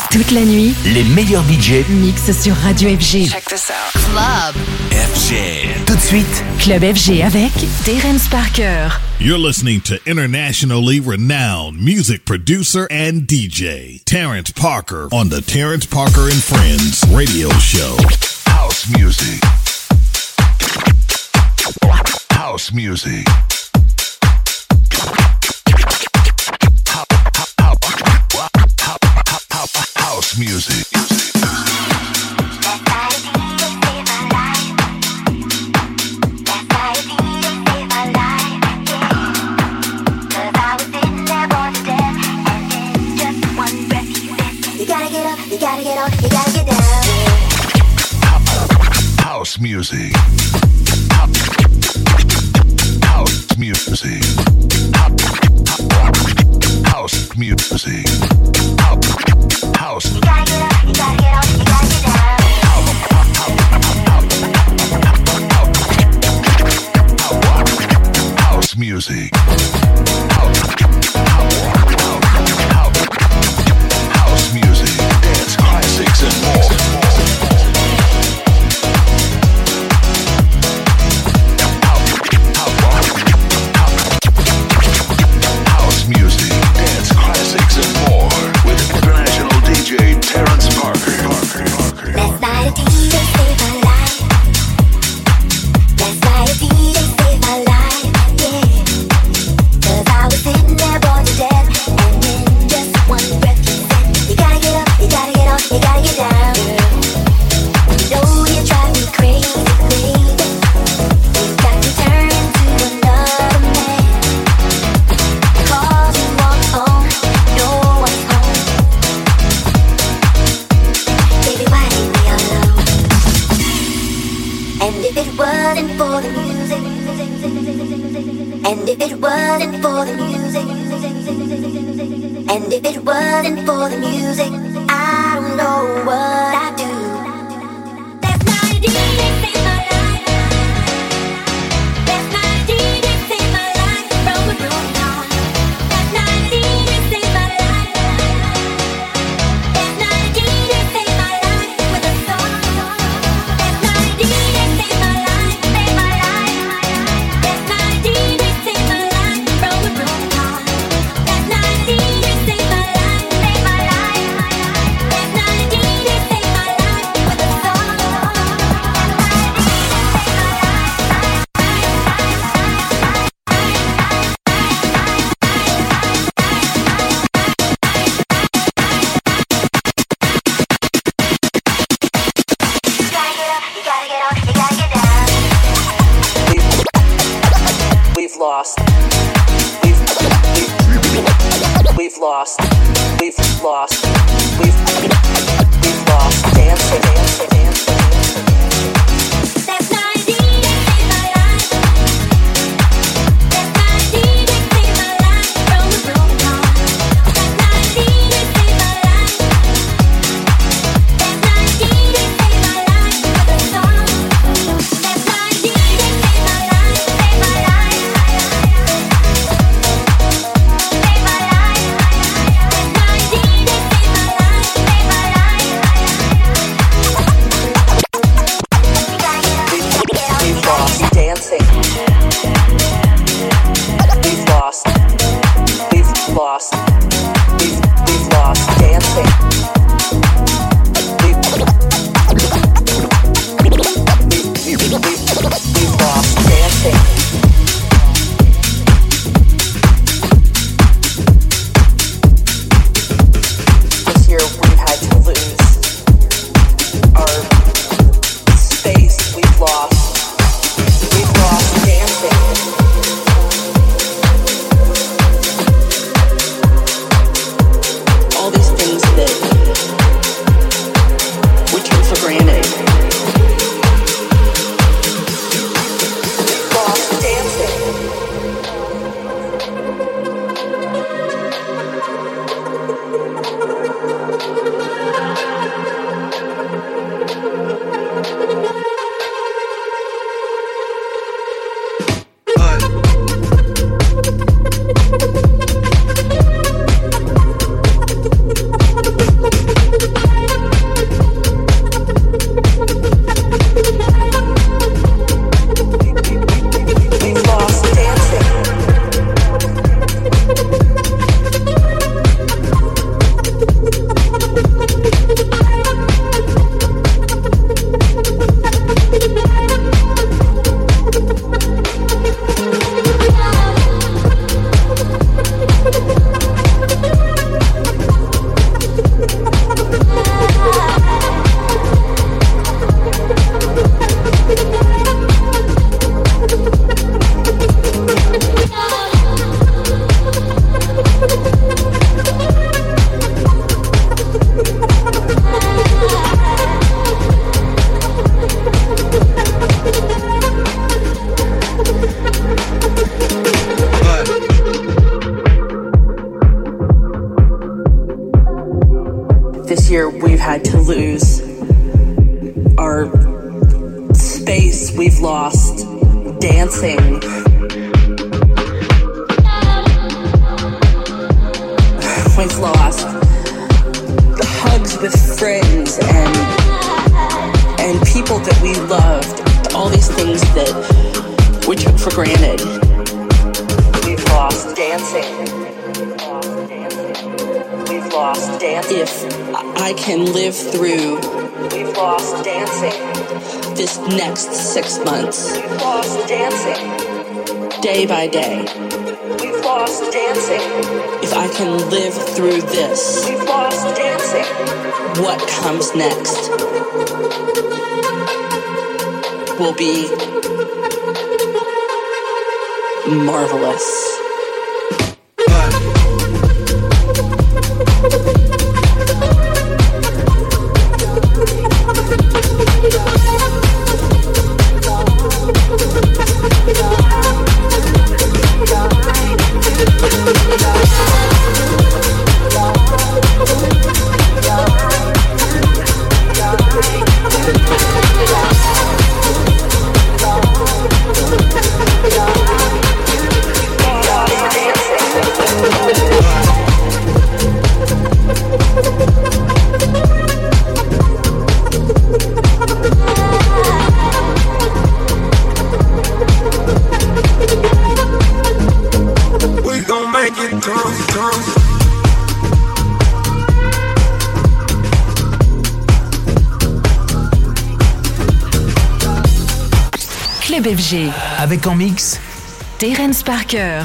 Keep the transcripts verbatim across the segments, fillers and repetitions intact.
Toute la nuit, les meilleurs D J mixent sur Radio F G. Check this out. Club F G. Tout de suite, Club F G avec Terence Parker. You're listening to internationally renowned music producer and D J, Terence Parker, on the Terence Parker and Friends radio show. House music. House music. House music. House music. House music. House music. House. You gotta get up, you gotta get up, you gotta get down. House music. House music. Dance classics and more. House music, dance classics and more with international D J Terence Parker. Parker, Parker. Last night a D J saved my life. Last night a D J saved my life, yeah. 'Cause I was sitting there bored to death, and in just one breath he said, you gotta get up, you gotta get up, you gotta get down. You know you drive me crazy, baby. You got to turn into another man. 'Cause you walk home, no one's home. Baby, why leave me alone? And if it wasn't for the music, and if it wasn't for the music, and if it wasn't for the music, I don't know what I'd do. Last night a D J saved my life. Last night a D J saved my life from a broken heart. Last night a D J saved my life. Last night a D J saved my life with a song. Last night a D J saved my life, saved my life. Last night a D J saved my life from a broken heart. Last night a D J saved my life, saved my life. Last night a D J saved my life with a song. You gotta get up, you gotta get up, you gotta get down. We've lost. We've, we've, we've lost. We've lost. We've, we've lost. Dance, dance, dance, dance. Last night a D J saved my life. Last night a D J saved my life from a broken heart. Last night a D J saved my life. Last night a D J saved my life with a song. Last night a D J saved my life, saved my life. Saved my life. Last night a D J saved my life, saved my life. this year we've had to lose our space, we've lost dancing. We've lost the hugs with friends and and people that we loved, all these things that we took for granted. We've lost dancing. We've lost dancing. If I can live through, we've lost dancing. This next six months, we've lost dancing. Day by day, we've lost dancing. If I can live through this, we've lost dancing. What comes next will be marvelous. Club F G. Avec en mix Terence Parker.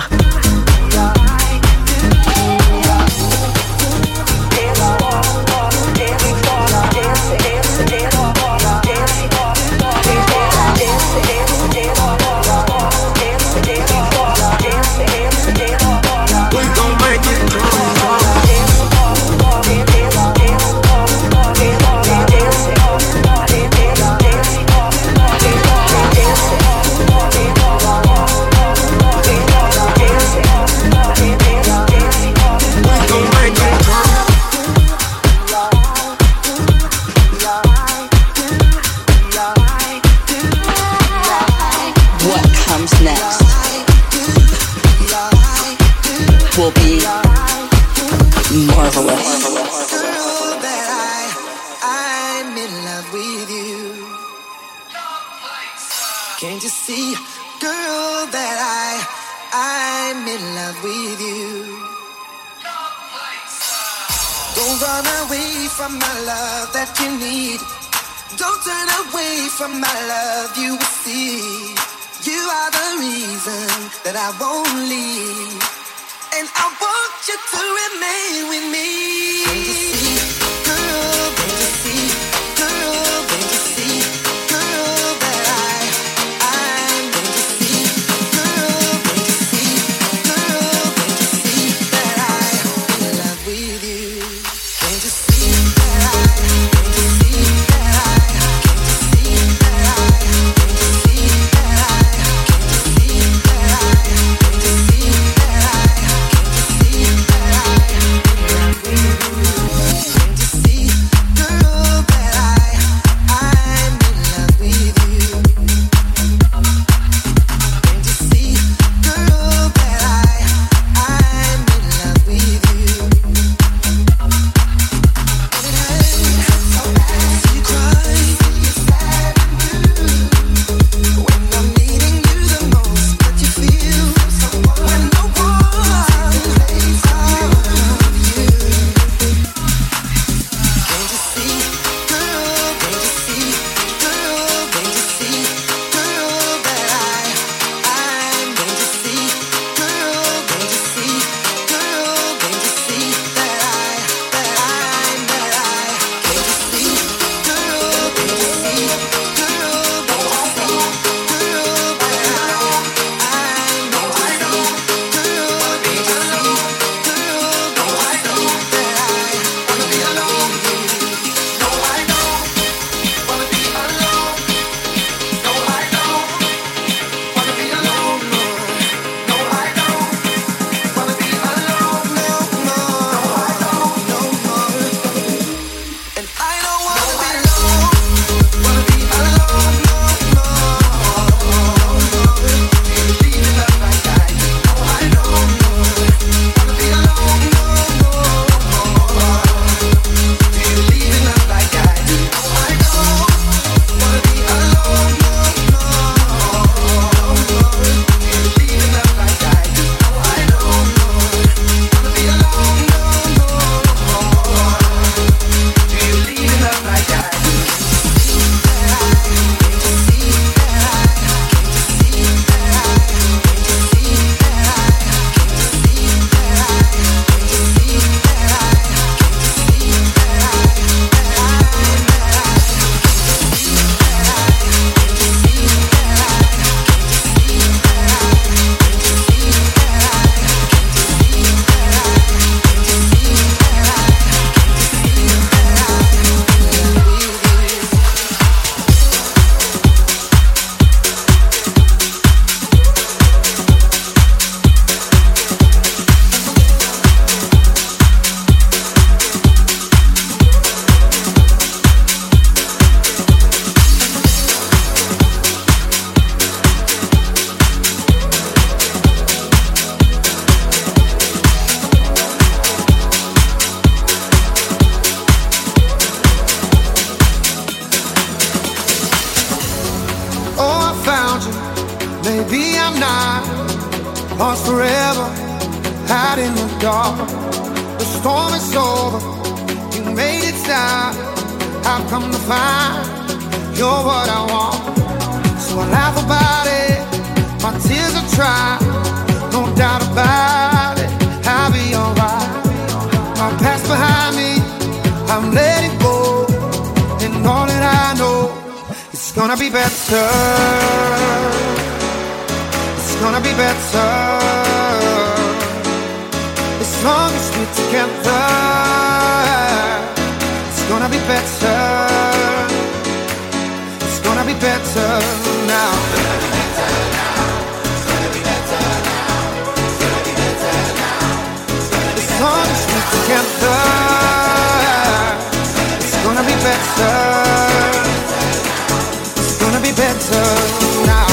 We'll be right back. not lost forever out in the dark. The storm is over, you made it stop. I've come to find you're what I want. So I laugh about it, my tears are dry, no doubt about it, I'll be alright. My past behind me, I'm letting go, and all that I know, it's gonna be better. It's gonna be better as long as we're together. It's gonna be better. It's gonna be better now. It's gonna be better now. It's gonna be better now. It's gonna be better now. As long as we're together, it's gonna be better. It's gonna be better now.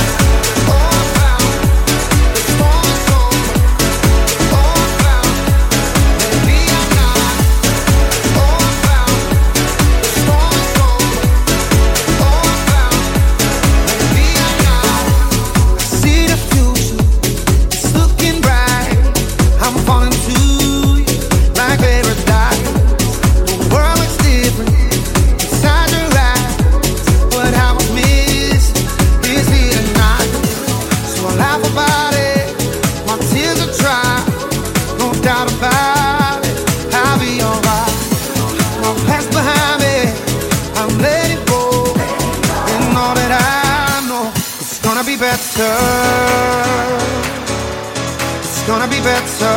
It's gonna be better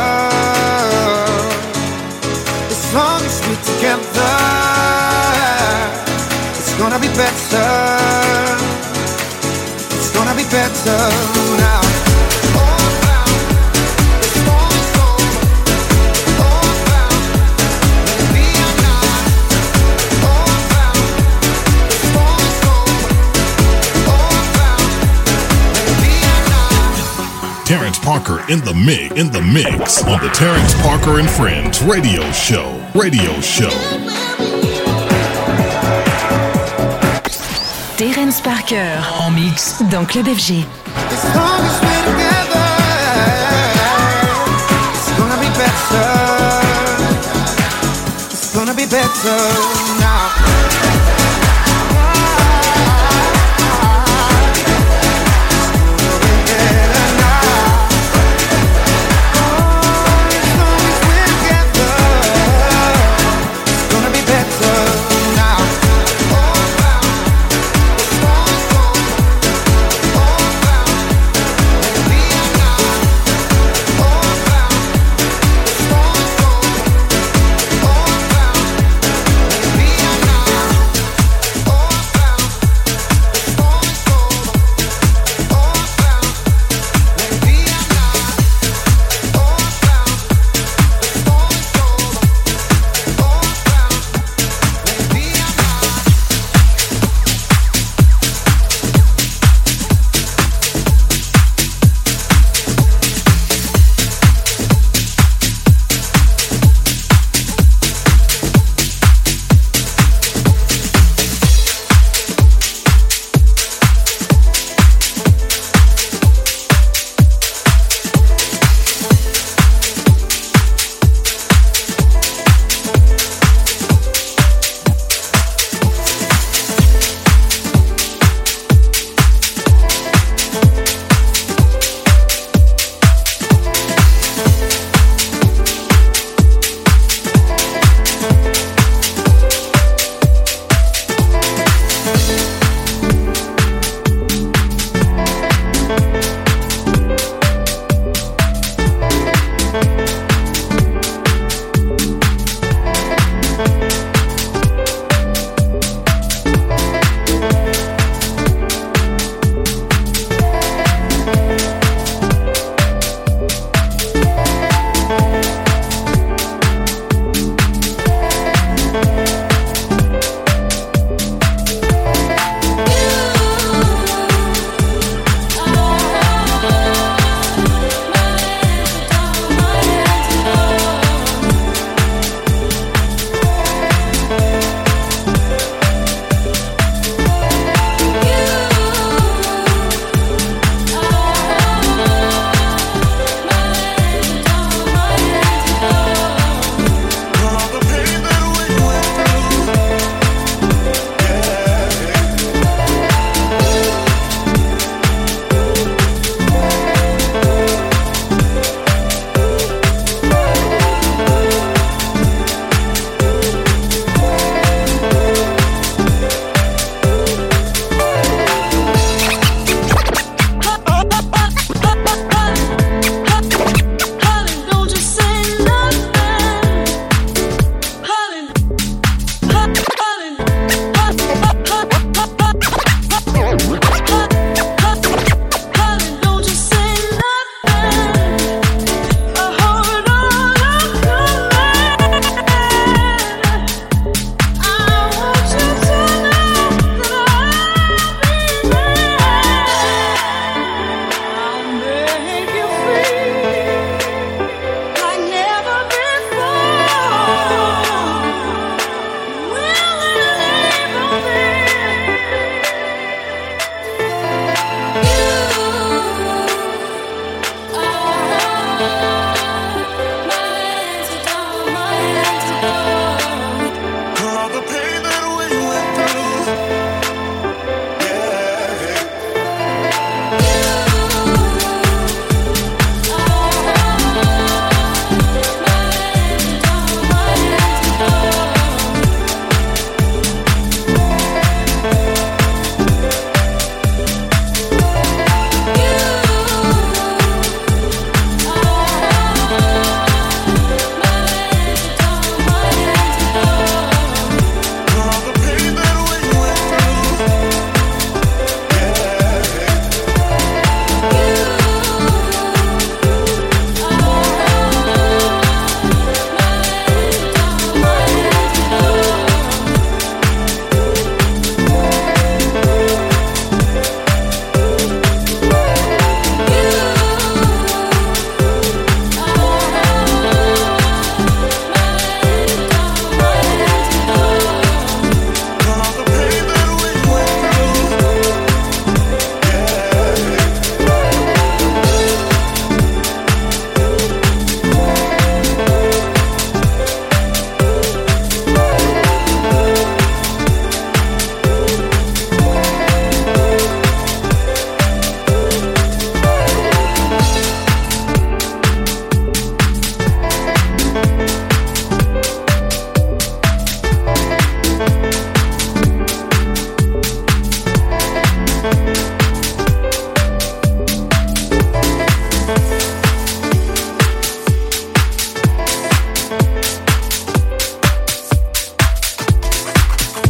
as long as we're together. It's gonna be better. It's gonna be better now. Terrence Parker in the mix, in the mix on the Terrence Parker and Friends radio show, radio show. Terrence Parker en mix dans Club F G. As long as we're together, it's gonna be better. It's gonna be better now.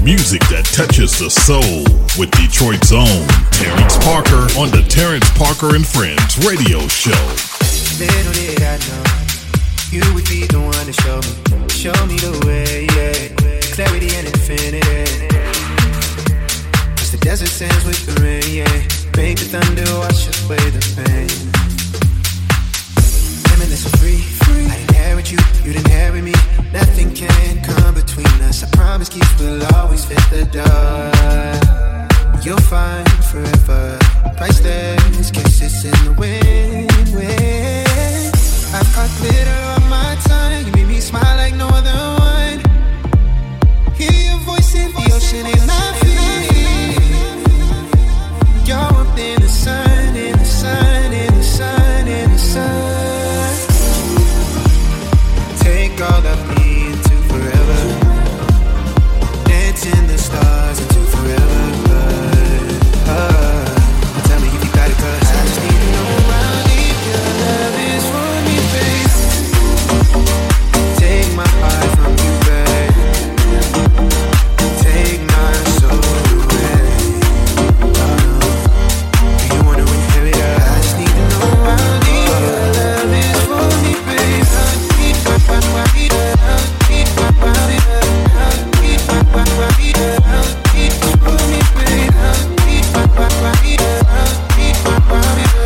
Music that touches the soul with Detroit's own Terrence Parker on the Terrence Parker and Friends radio show. Little did I know you would be the one to show me, show me the way, yeah. Clarity and infinity. As the desert sands with the rain, yeah. Make the thunder wash away the pain. Limitless and free, free. I inherit you, you'd inherit me. Nothing can come between us. I promise keys will always fit the door. You'll find forever. Priceless kisses in the wind, wind. I've caught glitter on my tongue. You made me smile like no other one. Hear your voice in the ocean and I feel you're up in the sun, in the sun, in the sun, in the sun. Take all of me into forever. Dance in the stars into forever. Uh, tell me if you got it, cause I just need to know how deep your love is for me, babe. Take my heart from you, babe. Take my soul away. Uh, do you wanna inherit her? I just need to know how deep your love is for me, babe. How deep, how deep, how deep, how deep, how deep, how deep, how deep for me, babe. How deep, how deep, how deep, how deep,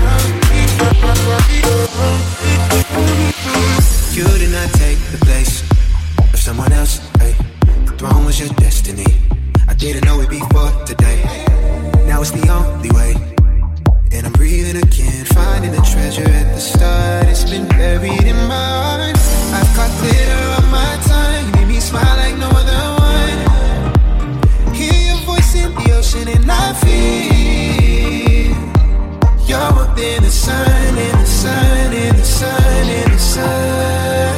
you did not take the place of someone else, hey. The throne was your destiny. I didn't know it before today. Now it's the only way. And I'm breathing again, finding the treasure at the start. It's been buried in my heart. I've caught glitter on my tongue. You made me smile like no other one. Hear your voice in the ocean and I feel you're up in the sun, in the sun, in the sun, in the sun.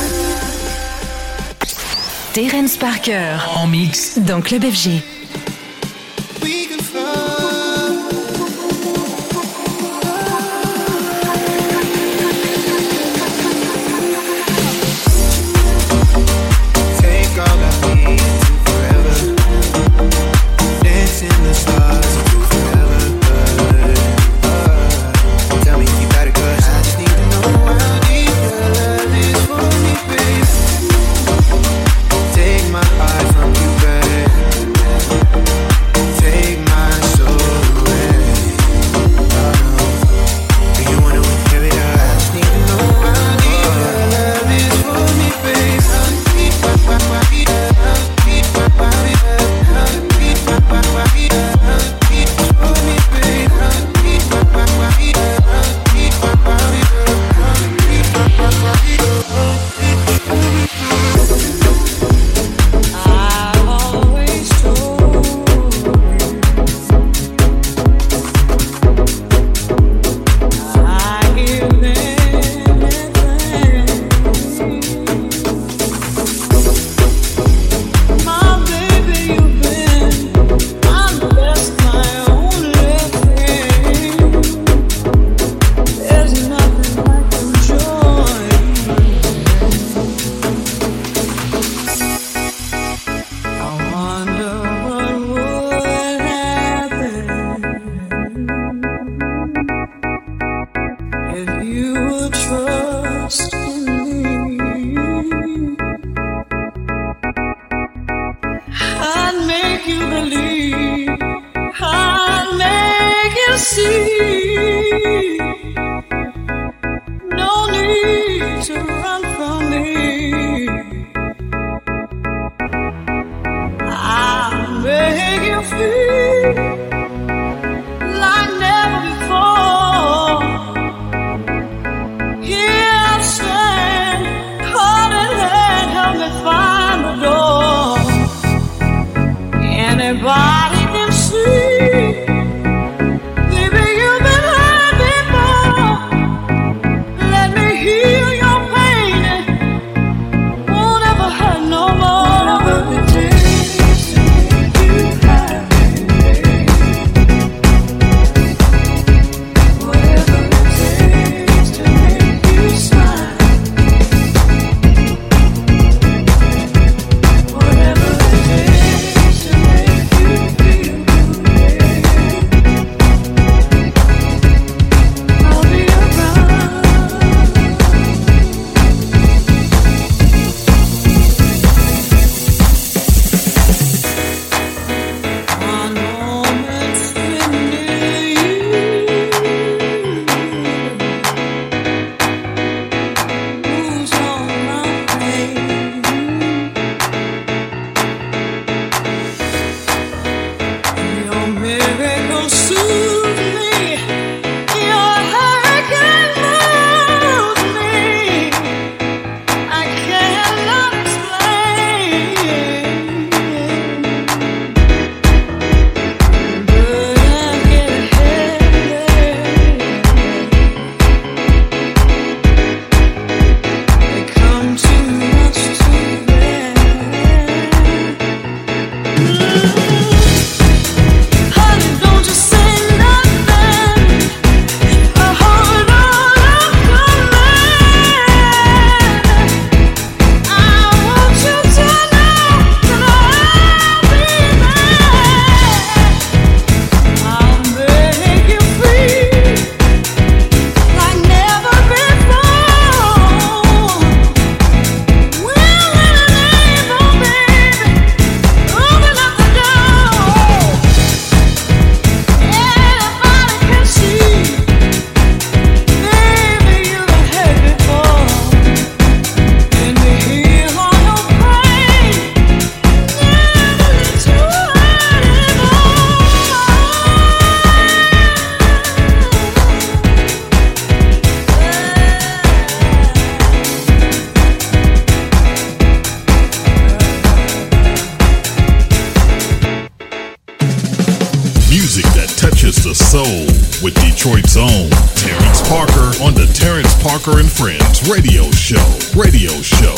Terrence Parker en mix dans Club F G. We can fly. Take all of me into forever. Dance in the stars into forever. Uh, tell me if you got it, cause I just need to know how deep your love is for me, babe. Take my heart from you, babe. Take my soul away. Oh, do you wanna inherit her? I just need to know how deep your love is for me, babe. How deep, how deep, how deep, how deep, how deep, how deep, how deep for me, babe. How deep, how deep, how deep, how deep, how deep, how deep. Anybody can see, baby, you've been hurt before. Let me heal your pain. Music that touches the soul with Detroit's own Terrence Parker on the Terrence Parker and Friends radio show. Radio show.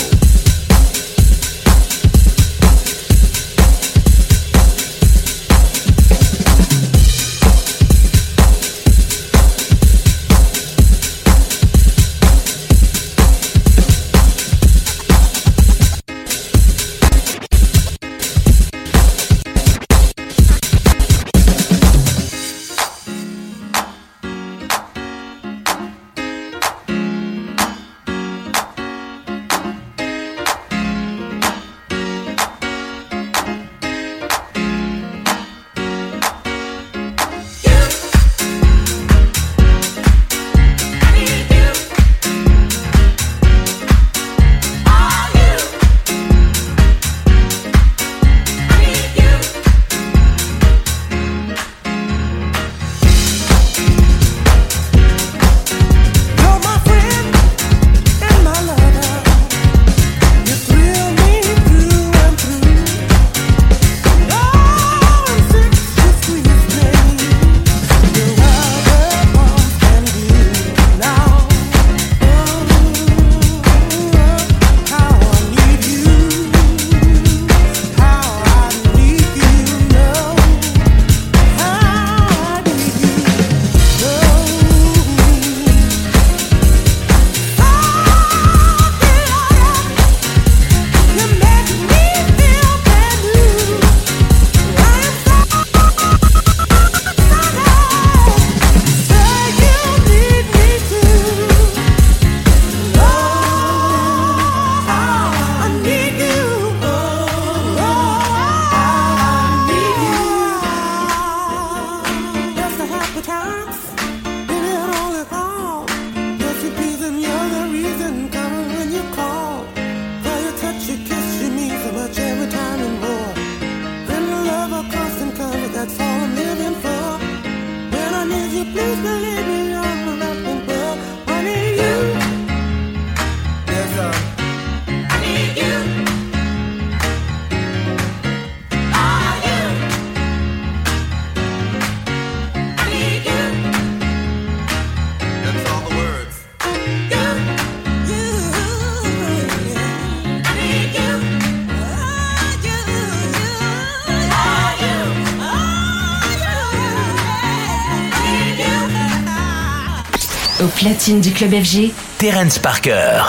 Au platine du Club F G, Terrence Parker.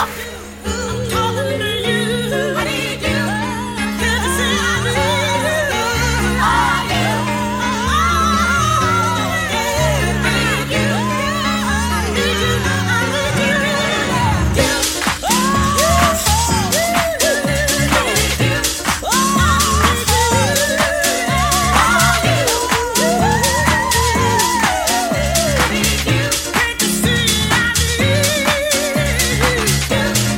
Can't you see I need you?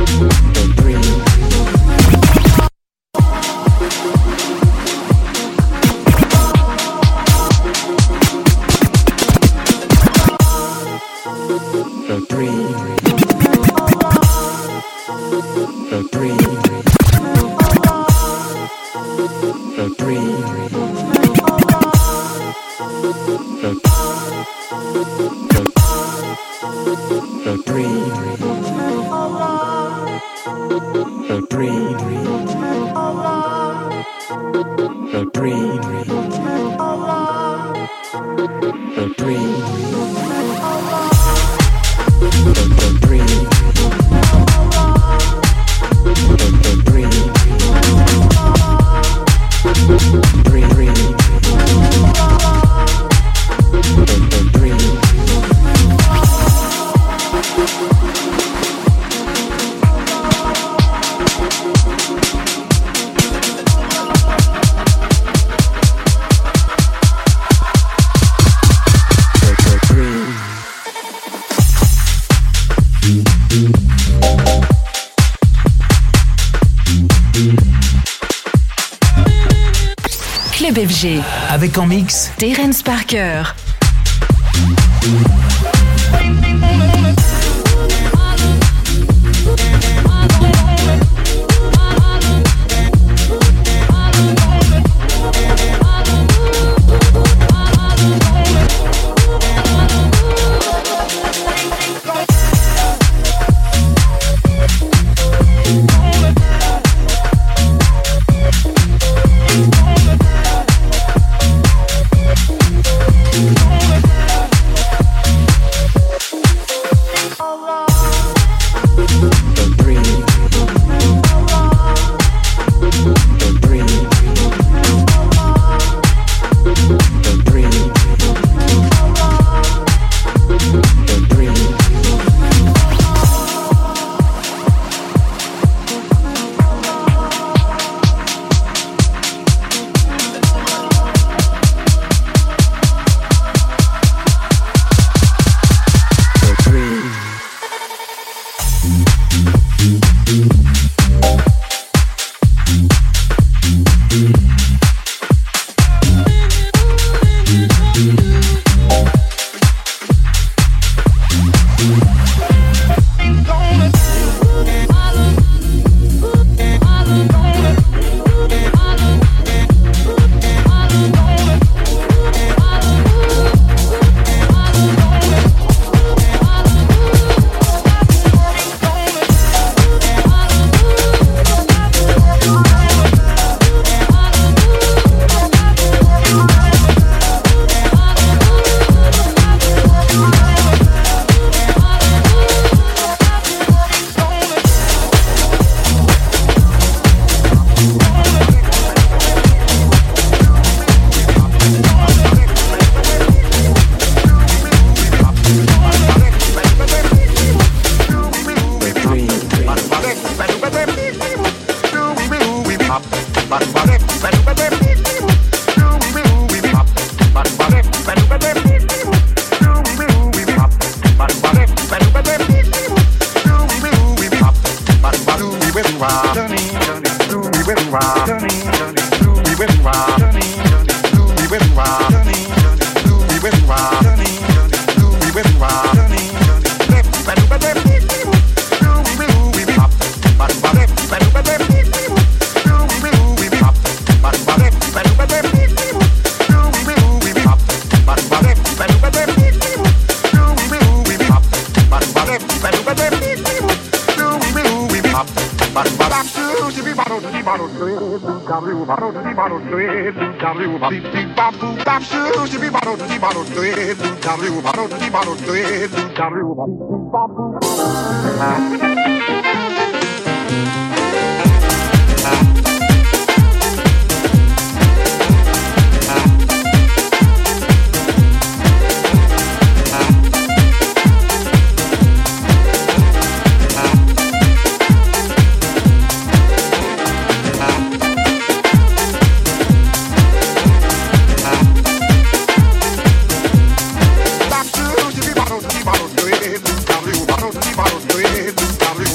Club F G. Avec en mix Terence Parker. Bottle,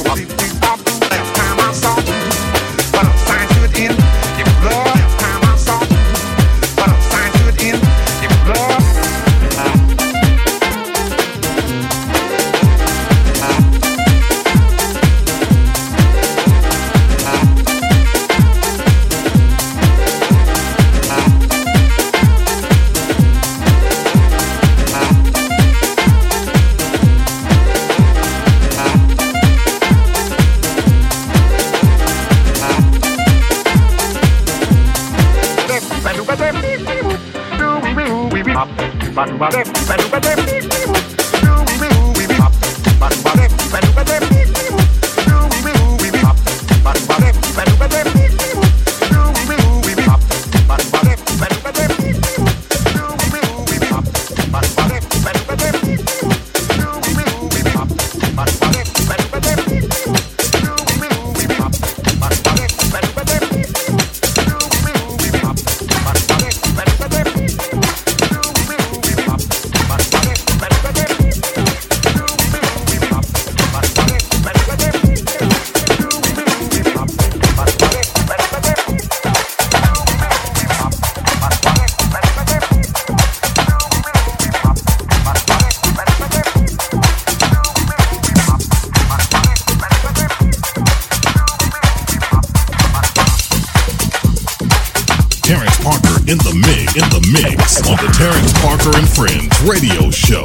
In the mix, in the mix on the Terrence Parker and Friends radio show.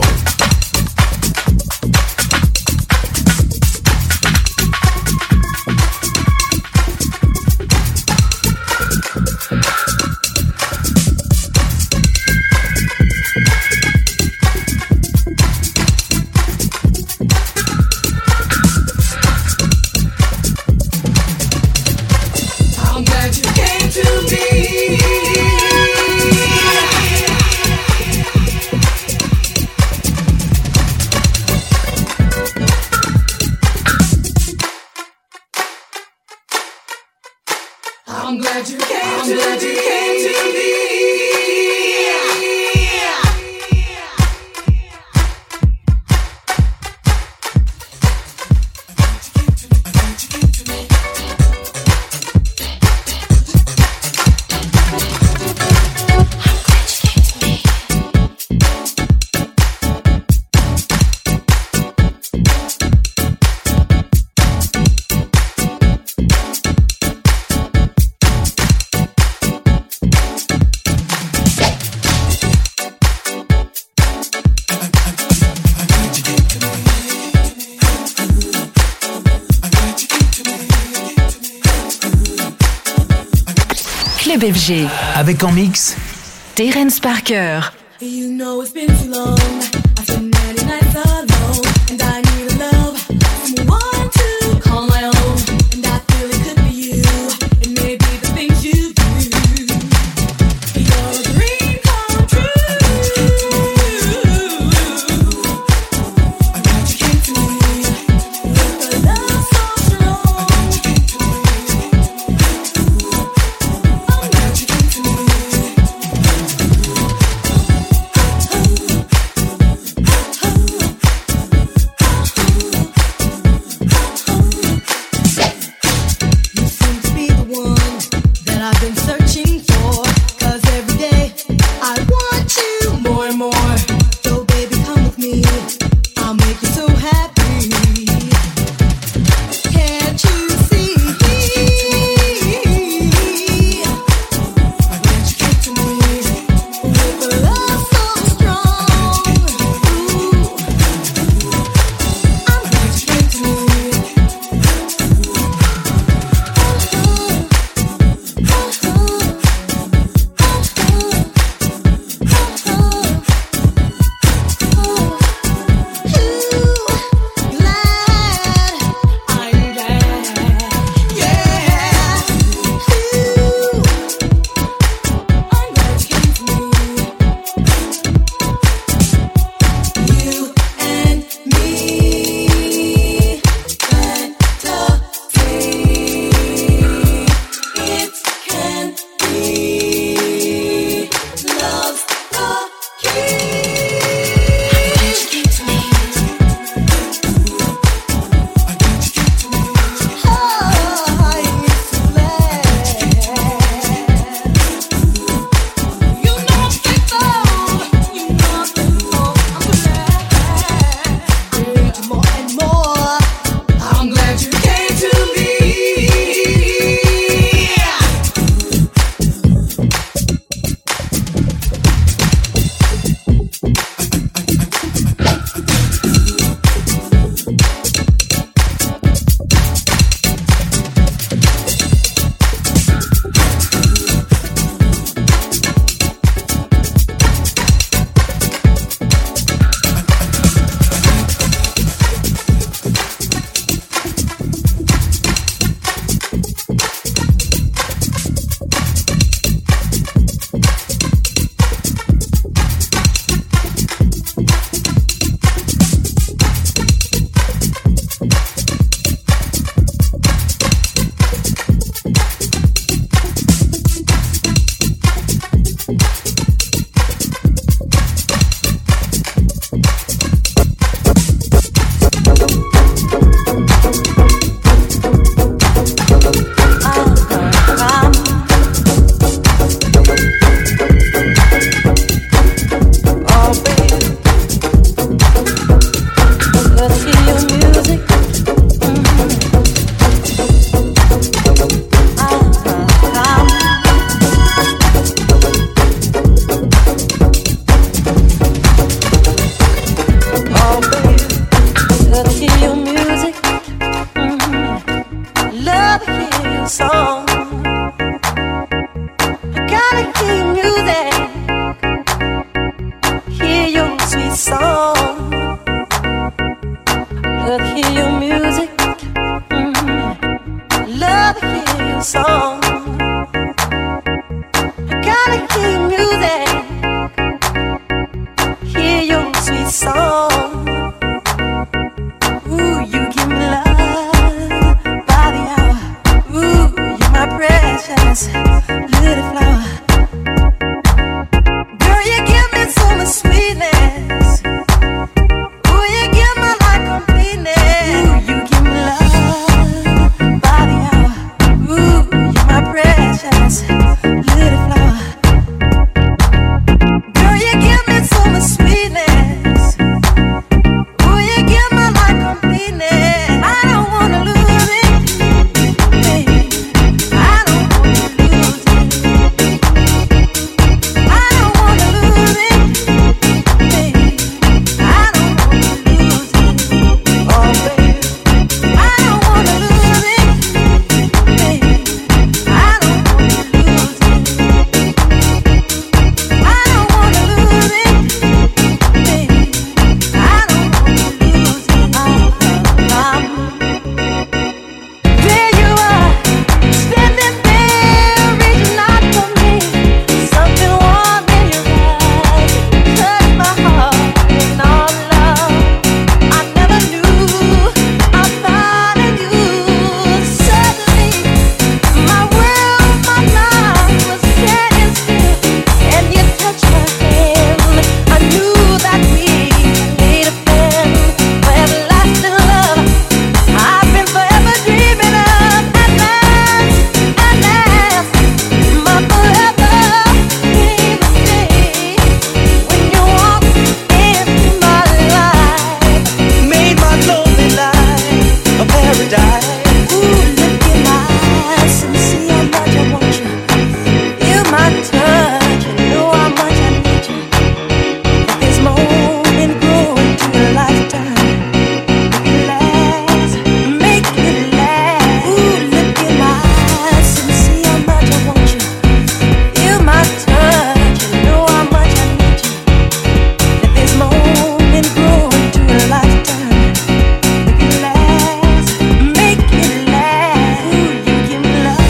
I'm glad you came to me. I'm glad you came, I'm glad you came to me. Club F G. Avec en mix Terrence Parker. You know it's been too long. I've been ninety nights alone, and I need a love, someone to call my own. And I feel it could be you. It may be the things you do. You're a dream come true. I'm glad you came to me with a love so strong. I'm glad you came to me. song. I gotta hear your music, hear your sweet song. Love to hear your music, mm-hmm. Love to hear your song. I gotta hear your music, hear your sweet song. Ooh, you give me love by the hour. Ooh, you're my precious little flower. Girl, you give me so much sweetness. Ooh, you give me like completeness. Ooh, you give me love by the hour. Ooh, you're my precious little flower. Girl, you give me so much sweetness. Ooh, you give me like completeness. I don't wanna lose it, baby. I don't wanna lose it. I don't wanna lose it, baby. I don't wanna lose it. Oh, baby. I don't wanna lose it, baby. I don't wanna lose it. I don't wanna lose it, baby. I don't wanna lose it. I'm, there you are, standing there, reaching out for me. Something warm in your eyes, touch my heart in all love. I never knew I found in you. Suddenly, my world, my life was standing still, and you touched my hand. I knew that we made a plan for everlasting love. I've been forever dreaming of. At last, at last, my forever came a day when you walked into my life, made my lonely life a paradise. Ooh, look in my eyes and see how much I want you. Feel my touch and know how much I need you. Let this moment grow into a lifetime. Make it last, make it last. Ooh, look in my eyes and see how much I want you. Feel my touch and know how much I need you. Let this moment grow into a lifetime. Make it last, make it last. Ooh, you give me love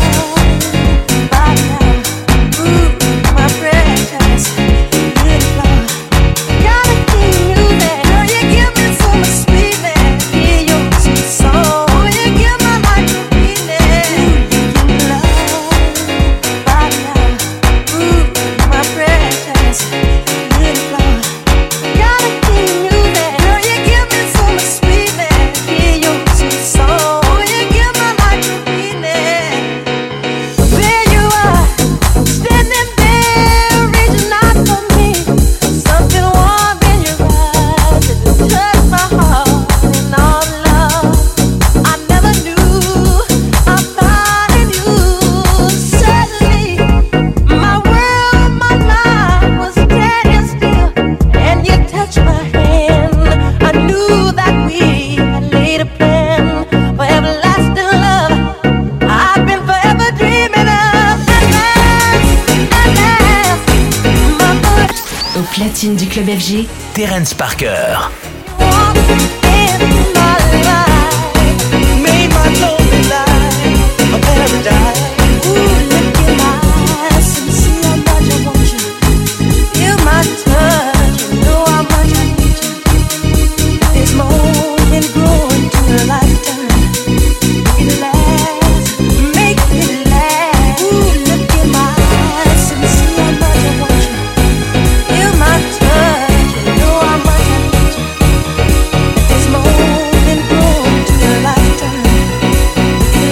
by the hour. Ooh, my precious little flower. Gotta keep music. Girl, you give me so much sweetness. Hear your sweet song. Ooh, you give my life completeness. Ooh, you give me love by the hour. Ooh, my precious little flower. Gotta keep music. Girl, you give me so much sweetness. Hear your sweet song. Ooh, you give my life completeness. There you are, standing there, reaching out for me. Something warm in your eyes, it touched my heart in all love. I never knew I found in you. Suddenly, my world, my life was standing still, and you touched my hand. I knew that we had laid a plan for everlasting love. I've been forever dreaming of. At last, at last, my foot Au platine du club F G, Terence Parker. walked into my life, made my lonely life a paradise. Ooh, look in my eyes and see how much I want you. Feel my touch and know how much I need you. Let this moment grow into a lifetime. Make it last, make it last. Ooh, look in my eyes and see how much I want you. Feel my touch and know how much I need you. Let this moment grow into a lifetime. Make it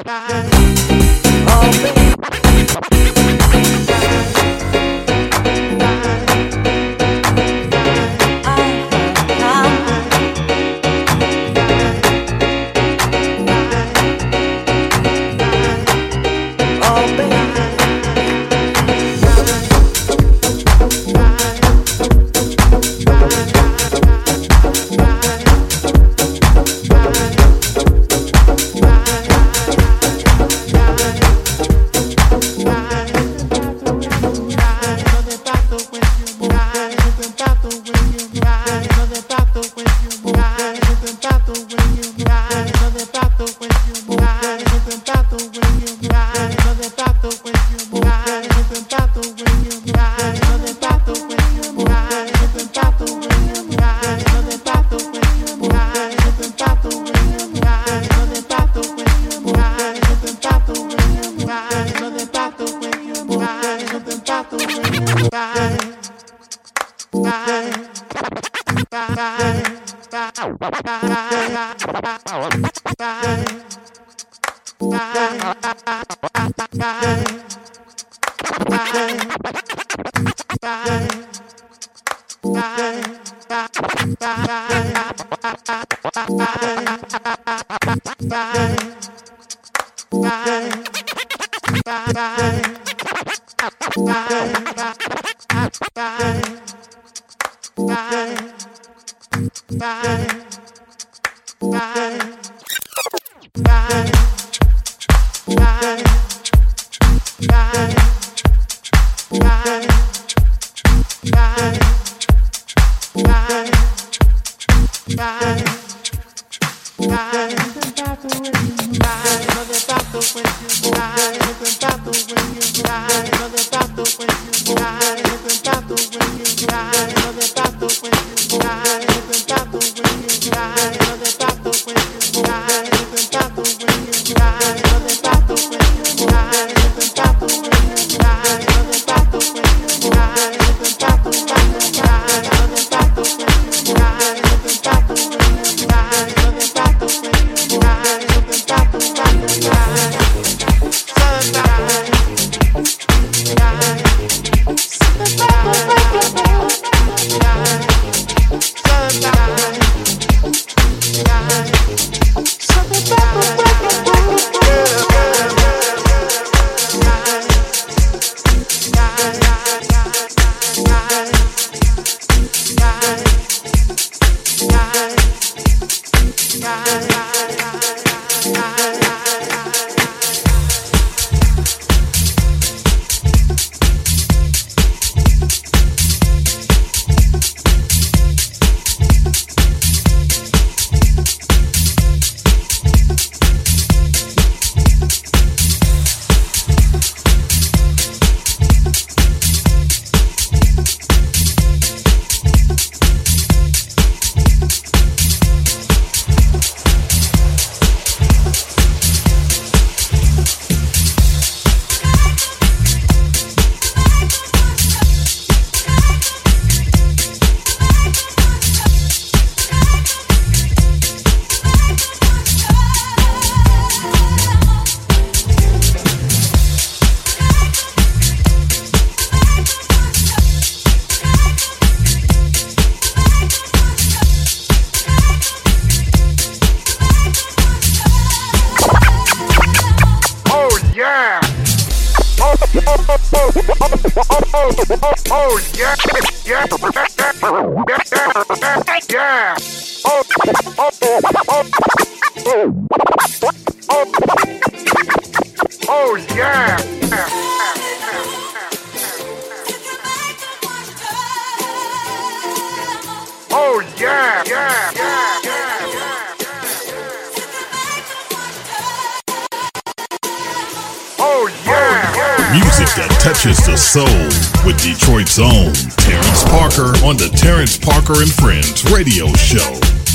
With Detroit's own Terrence Parker on the Terrence Parker and Friends radio show.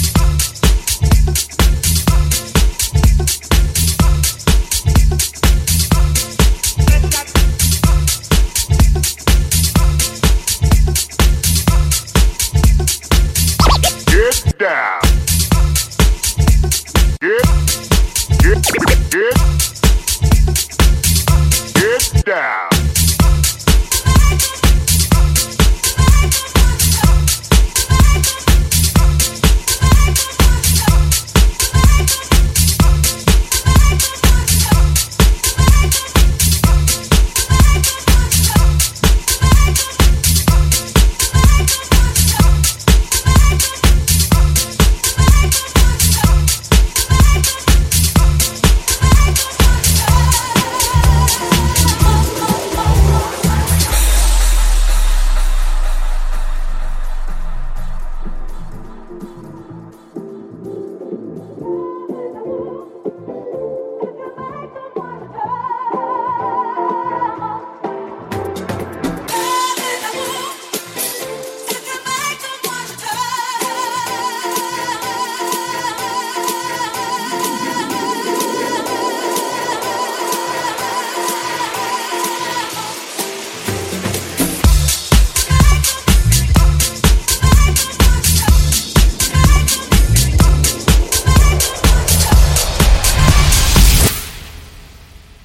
Get down. Get, get, get. Get down.